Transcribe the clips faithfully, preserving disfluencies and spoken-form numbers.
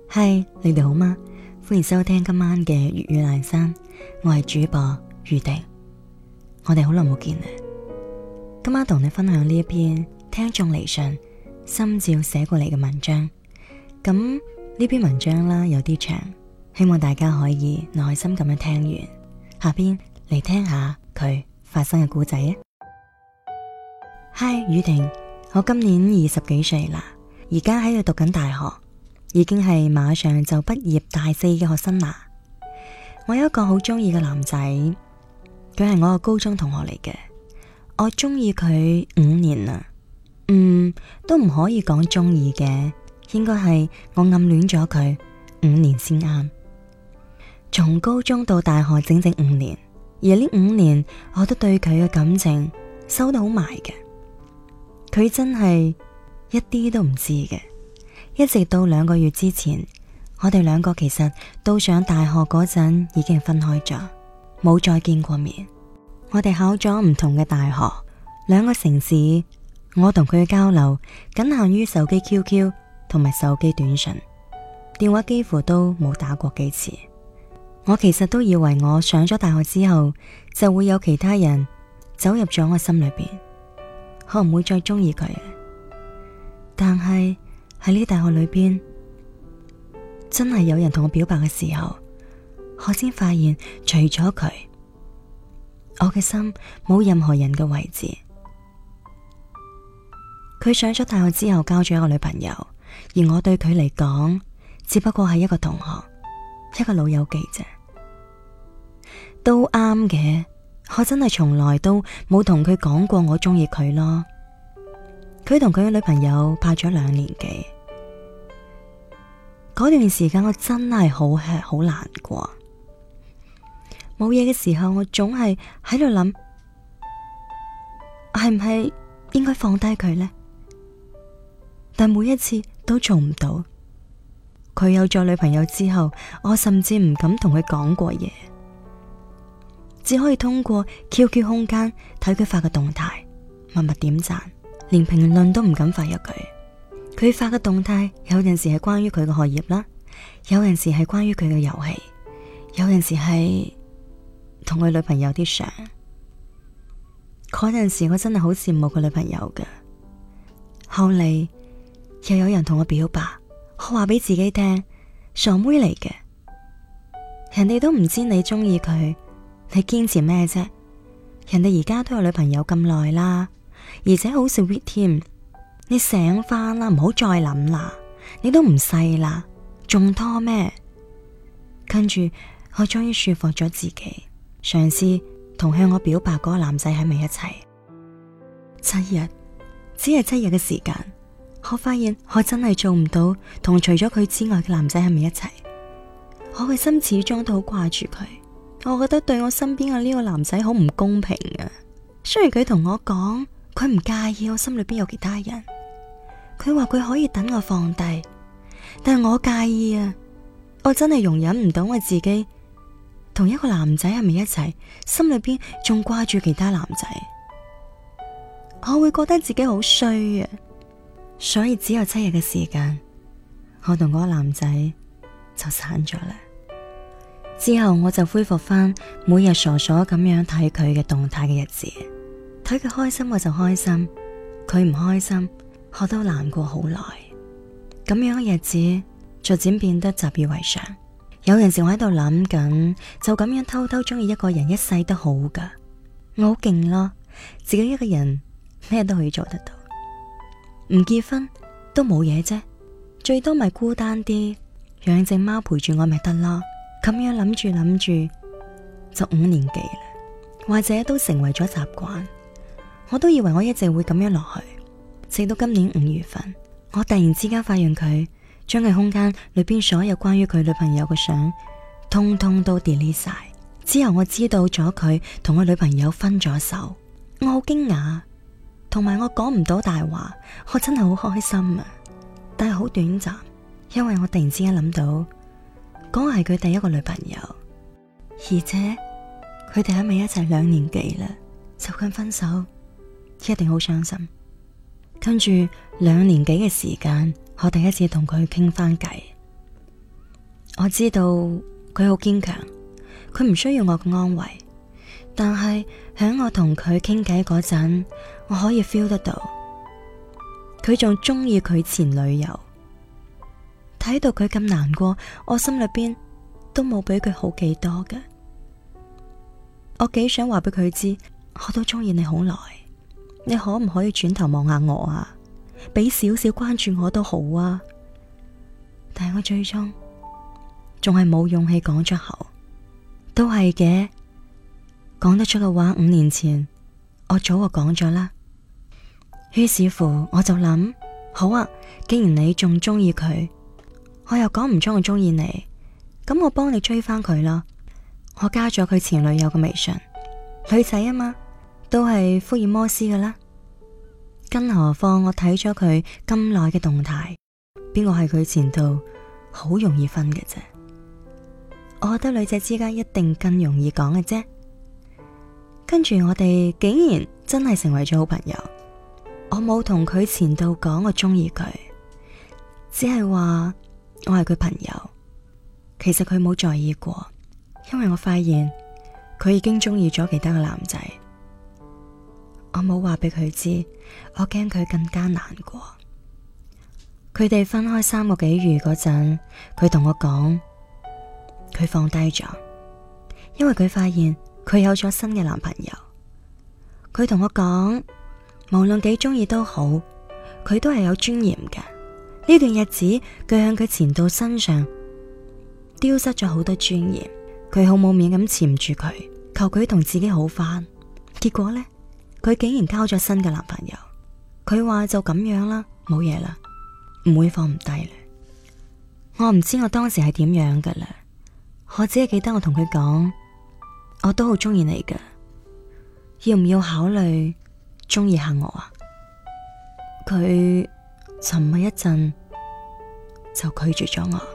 嗨，你哋好嗎？歡迎收聽今晚嘅粵語闌珊，我係主播宇婷。我哋好耐冇見啦，今晚同你分享呢一篇聽眾嚟信心照寫過嚟嘅文章。咁呢篇文章啦有啲長，希望大家可以耐心咁樣聽完。下邊嚟聽下佢發生嘅故仔啊！嗨，宇婷，我今年二十幾歲啦，而家喺度讀緊大學，已經係馬上就畢業大四嘅學生啦。我有一個好中意嘅男仔，佢係我個高中同學嚟嘅，我中意佢五年啦。嗯，都唔可以講中意嘅，應該係我暗戀咗佢五年先啱。從高中到大學整整五年，而呢五年我都對佢嘅感情收得好埋嘅，佢真係一啲都唔知嘅。一直到兩個月之前，我哋兩個其實到上大學嗰陣已經分開咗，冇再見過面。我哋考咗唔同嘅大學，兩個城市，我同佢嘅交流僅限於手機 Q Q 同埋手機短信，電話幾乎都冇打過幾次。我其實都以為我上咗大學之後就會有其他人走入咗我心裏邊，我唔會再中意佢。但係喺呢大學裏邊，真係有人同我表白嘅時候，我先發現除咗佢，我嘅心冇任何人嘅位置。佢上咗大學之後交咗一個女朋友，而我對佢嚟講只不過係一個同學，一個老友記啫。都啱嘅，我真係從來都冇同佢講過我中意佢咯。佢同佢嘅女朋友拍咗兩年幾，嗰段時間我真係好吃好難過。冇嘢嘅時候，我總係喺度諗，係唔係應該放低佢呢？但每一次都做唔到。佢有咗女朋友之後，我甚至唔敢同佢講過嘢，只可以通過 Q Q 空間睇佢發嘅動態，默默點讚，連評論都唔敢發入佢。佢發嘅動態有陣時係關於佢嘅學業啦，有陣時係關於佢嘅遊戲，有陣時係同佢女朋友啲相。嗰陣時我真係好羨慕佢女朋友㗎。後嚟又有人同我表白，我話俾自己聽，傻妹嚟嘅，人哋都唔知你中意佢，你堅持咩啫？人哋而家都有女朋友咁耐啦，而且好 sweet 添。你醒翻啦，唔好再諗啦，你都唔細啦，仲拖咩？跟住我終於說服咗自己，嘗試同向我表白嗰個男仔喺埋一齊。七日，只係七日嘅時間，我發現我真係做唔到同除咗佢之外嘅男仔喺埋一齊。我嘅心始終都好掛住佢，我覺得對我身邊嘅呢個男仔好唔公平啊。雖然佢同我講佢唔介意我心裏邊有其他人，佢話佢可以等我放低，但係我介意啊。我真係容忍唔到我自己同一個男仔喺埋一齊，心裏邊仲掛住其他男仔，我會覺得自己好衰啊。所以只有七日嘅時間，我同嗰個男仔就散咗啦。之後我就恢復翻每日傻傻咁樣睇佢嘅動態嘅日子，睇佢開心我就開心，佢唔開心我都難過好耐。咁樣嘅日子逐漸變得習以為常。有陣時我喺度諗緊，就咁樣偷偷中意一個人一世都好噶，我好勁咯，自己一個人咩都可以做得到，唔結婚都冇嘢啫，最多咪孤單啲，養隻貓陪住我咪得咯。咁樣諗住諗住就五年幾啦，或者都成為咗習慣。我都以為我一直會咁樣落去，直到今年五月份，我突然之間發現佢將佢空間裏邊所有關於佢女朋友嘅相通通都 delete 晒。之後我知道咗佢同我女朋友分咗手，我好驚訝，同埋我講唔到大話，我真係好開心啊！但係好短暫，因為我突然之間諗到嗰個係佢第一個女朋友，而且佢哋喺埋一齊兩年幾啦，就咁分手，一定好傷心。跟住兩年幾嘅時間，我第一次同佢傾翻偈， 我知道佢好堅強，佢唔需要我嘅安慰，但係喺我同佢傾偈嗰陣，我可以 feel 得到佢仲中意佢前女友。睇到佢咁難過，我心裏邊都冇比佢好幾多嘅。我幾想話俾佢知，我都中意你好耐，你可唔可以轉頭望下我啊？俾少少關注我都好啊。但係我最終仲係冇勇氣講出口。都係嘅，講得出嘅話，五年前我早就講咗啦。於是乎我就諗，好啊，既然你仲中意佢，我又講唔出我中意你，咁我幫你追翻佢啦。我加咗佢前女友嘅微信，女仔啊嘛，都係福爾摩斯㗎啦。更何況我睇咗佢咁耐嘅動態，邊個係佢前度，好容易分嘅啫。我覺得女仔之間一定更容易講嘅啫。跟住我哋竟然真係成為咗好朋友。我冇同佢前度講我中意佢，只係話我係佢朋友。其實佢冇在意過，因為我發現佢已經中意咗其他嘅男仔。我冇話俾佢知，我驚佢更加難過。佢哋分開三個幾月嗰陣，佢同我講佢放低咗，因為佢發現佢有咗新嘅男朋友。佢同我講，無論幾中意都好，佢都係有尊嚴嘅。呢段日子佢向佢前度身上丟失咗好多尊嚴，佢好冇面咁纏住佢，求佢同自己好返。結果呢，佢竟然交咗新嘅男朋友。佢話就咁樣啦，冇嘢啦，唔會放唔低啦。我唔知我當時係點樣噶啦，我只係記得我同佢講，我都好中意你噶，要唔要考慮中意下我啊？佢沉默一陣就拒絕咗我。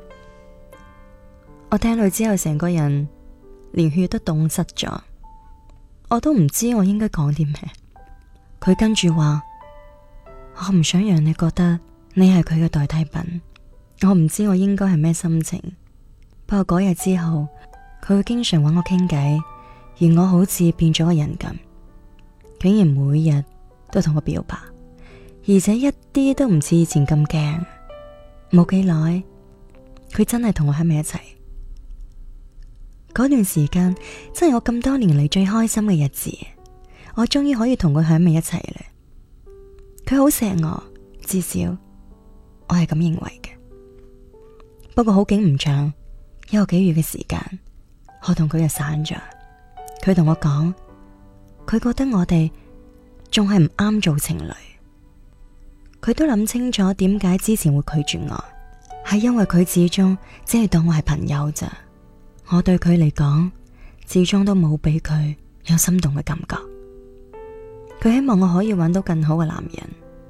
我聽到之後成個人連血都凍失咗，我都唔知我應該講啲咩。佢跟住話，我唔想讓你覺得你係佢嘅代替品。我唔知我應該係咩心情，不過嗰日之後佢會經常揾我傾偈，而我好似變咗個人咁，竟然每日都同我表白，而且一啲都唔似以前咁驚。冇幾耐佢真係同我喺埋一齊。嗰段時間真係我咁多年嚟最開心嘅日子，我終於可以同佢喺埋一齊啦。佢好錫我，至少我係咁認為嘅。不過好景唔長，一個幾月嘅時間，我同佢就散咗。佢同我講，佢覺得我哋仲係唔啱做情侶。佢都諗清楚點解之前會拒絕我，係因為佢始終只係當我係朋友咋。我對佢嚟講，始終都冇俾佢有心動嘅感覺。佢希望我可以揾到更好嘅男人。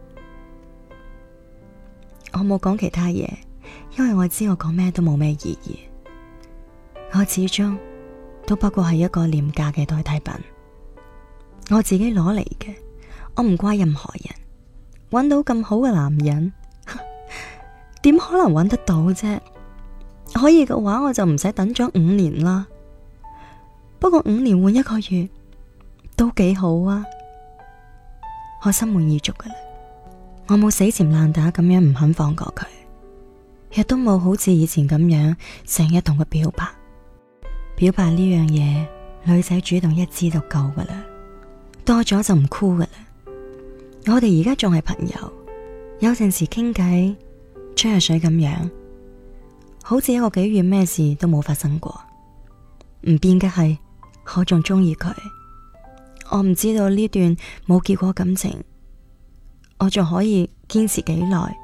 我冇講其他嘢，因為我知我講咩都冇咩意義。我始終都不過係一個廉價嘅代替品，我自己攞嚟嘅，我唔怪任何人。揾到咁好嘅男人，點可能揾得到啫？可以嘅話，我就唔使等咗五年啦。不過五年換一個月都幾好啊！我心滿意足噶啦，我冇死纏爛打咁樣唔肯放過佢，亦都冇好似以前咁樣成日同佢表白。表白呢樣嘢，女仔主動一支就夠噶啦，多咗就唔酷噶啦。我哋而家仲係朋友，有陣時傾偈吹下水咁樣，好似一個幾月咩事都冇發生過。唔變嘅係，我仲中意佢。我唔知道呢段冇結果感情，我仲可以堅持幾耐，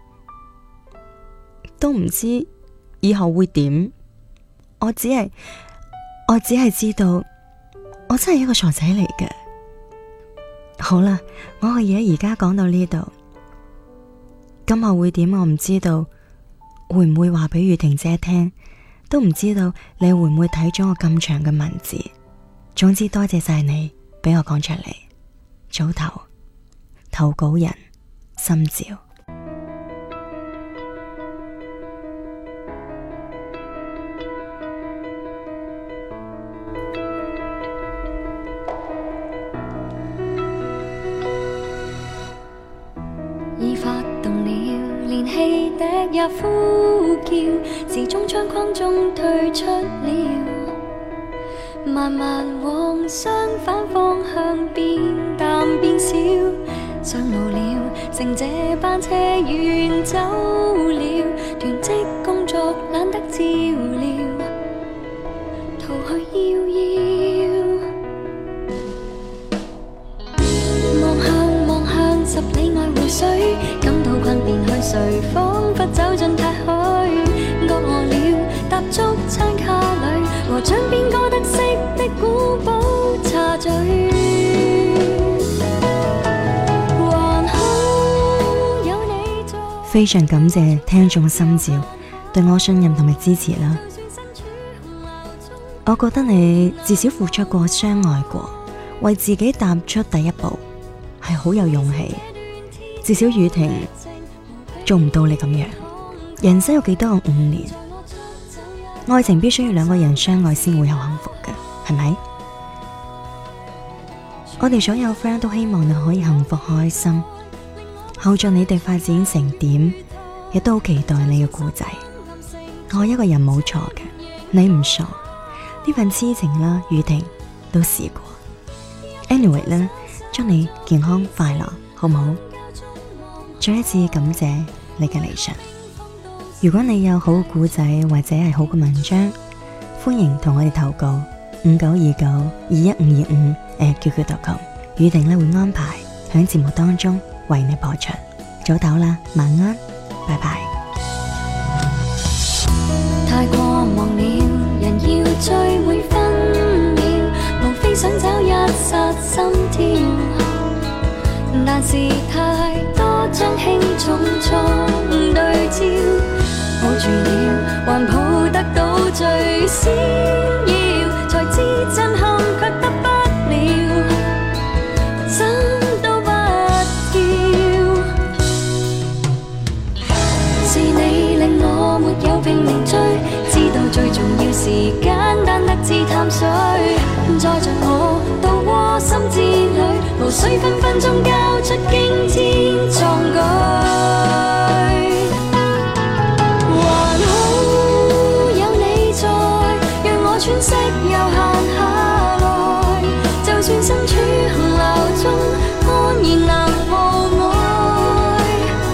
都唔知以後會點。我只係我只係知道，我真係一個傻仔嚟嘅。好啦，我嘅嘢而家講到呢度，今後會點我唔知道，會唔會話俾雨婷姐聽，都唔知道你會唔會睇咗我咁長嘅文字。總之多謝晒你俾我講出嚟。早唞，投稿人心照。 也呼叫，時鐘窗框中退出了，慢慢往相反方向變淡變小，上路了，乘這班車遠走了，囤積工作懶得照料，逃去遙遙。望向望向十里外湖水，感到困便去睡，彷彿走進太虛。餓餓了，踏足餐卡裏，和掌邊歌德式的古堡茶聚。還好有你在。 非常感謝聽眾心照對我信任同埋支持啦。我覺得你至少付出過、相愛過，為自己踏出第一步係好有勇氣。至少宇婷做唔到你咁樣。人生有幾多個五年？愛情必須要兩個人相愛先會有幸福嘅，係咪？我哋所有 friend 都希望你可以幸福開心。後續你哋發展成點，亦都好期待你嘅故仔。愛一個人冇錯嘅，你唔傻。呢份痴情啦，宇婷都試過。Anyway 咧，祝你健康快樂，好唔好？再一次感謝你嘅嚟信。如果你有好嘅故仔或者係好嘅文章，歡迎同我哋投稿五九二九二一五二五誒 Q Q 點 com， 宇婷咧會安排響節目當中為你播出。早唞啦，晚安，拜拜。 太過忙了，人要追每分秒，無非想找一剎心跳，但是太多將輕重錯對焦，抱住了還抱得到最閃耀，才知震撼卻得不了，怎都不要。是你令我沒有拼命追，知道最重要是簡單得知淡水，載着我到窩心之旅，無需分分鐘交出驚天壯舉。還好有你在，讓我喘息悠閒下來，就算身處洪流中，安然能無礙。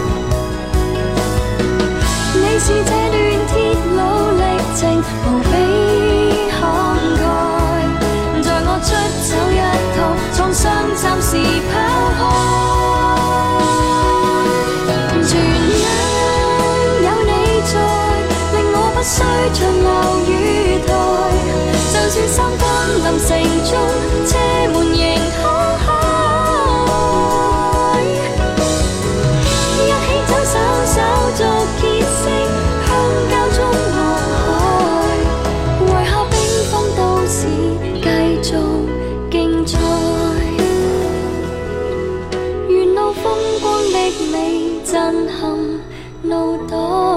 你是這段鐵路歷程無比慷慨，在我出走一途，創傷暫時拋開。全因有你在，令我不需長留雨台，就算三分臨城中，車門仍開開。一起走手手續結識，鄉郊中望海，為何冰封都市繼續競賽？沿路風光的美震撼腦袋。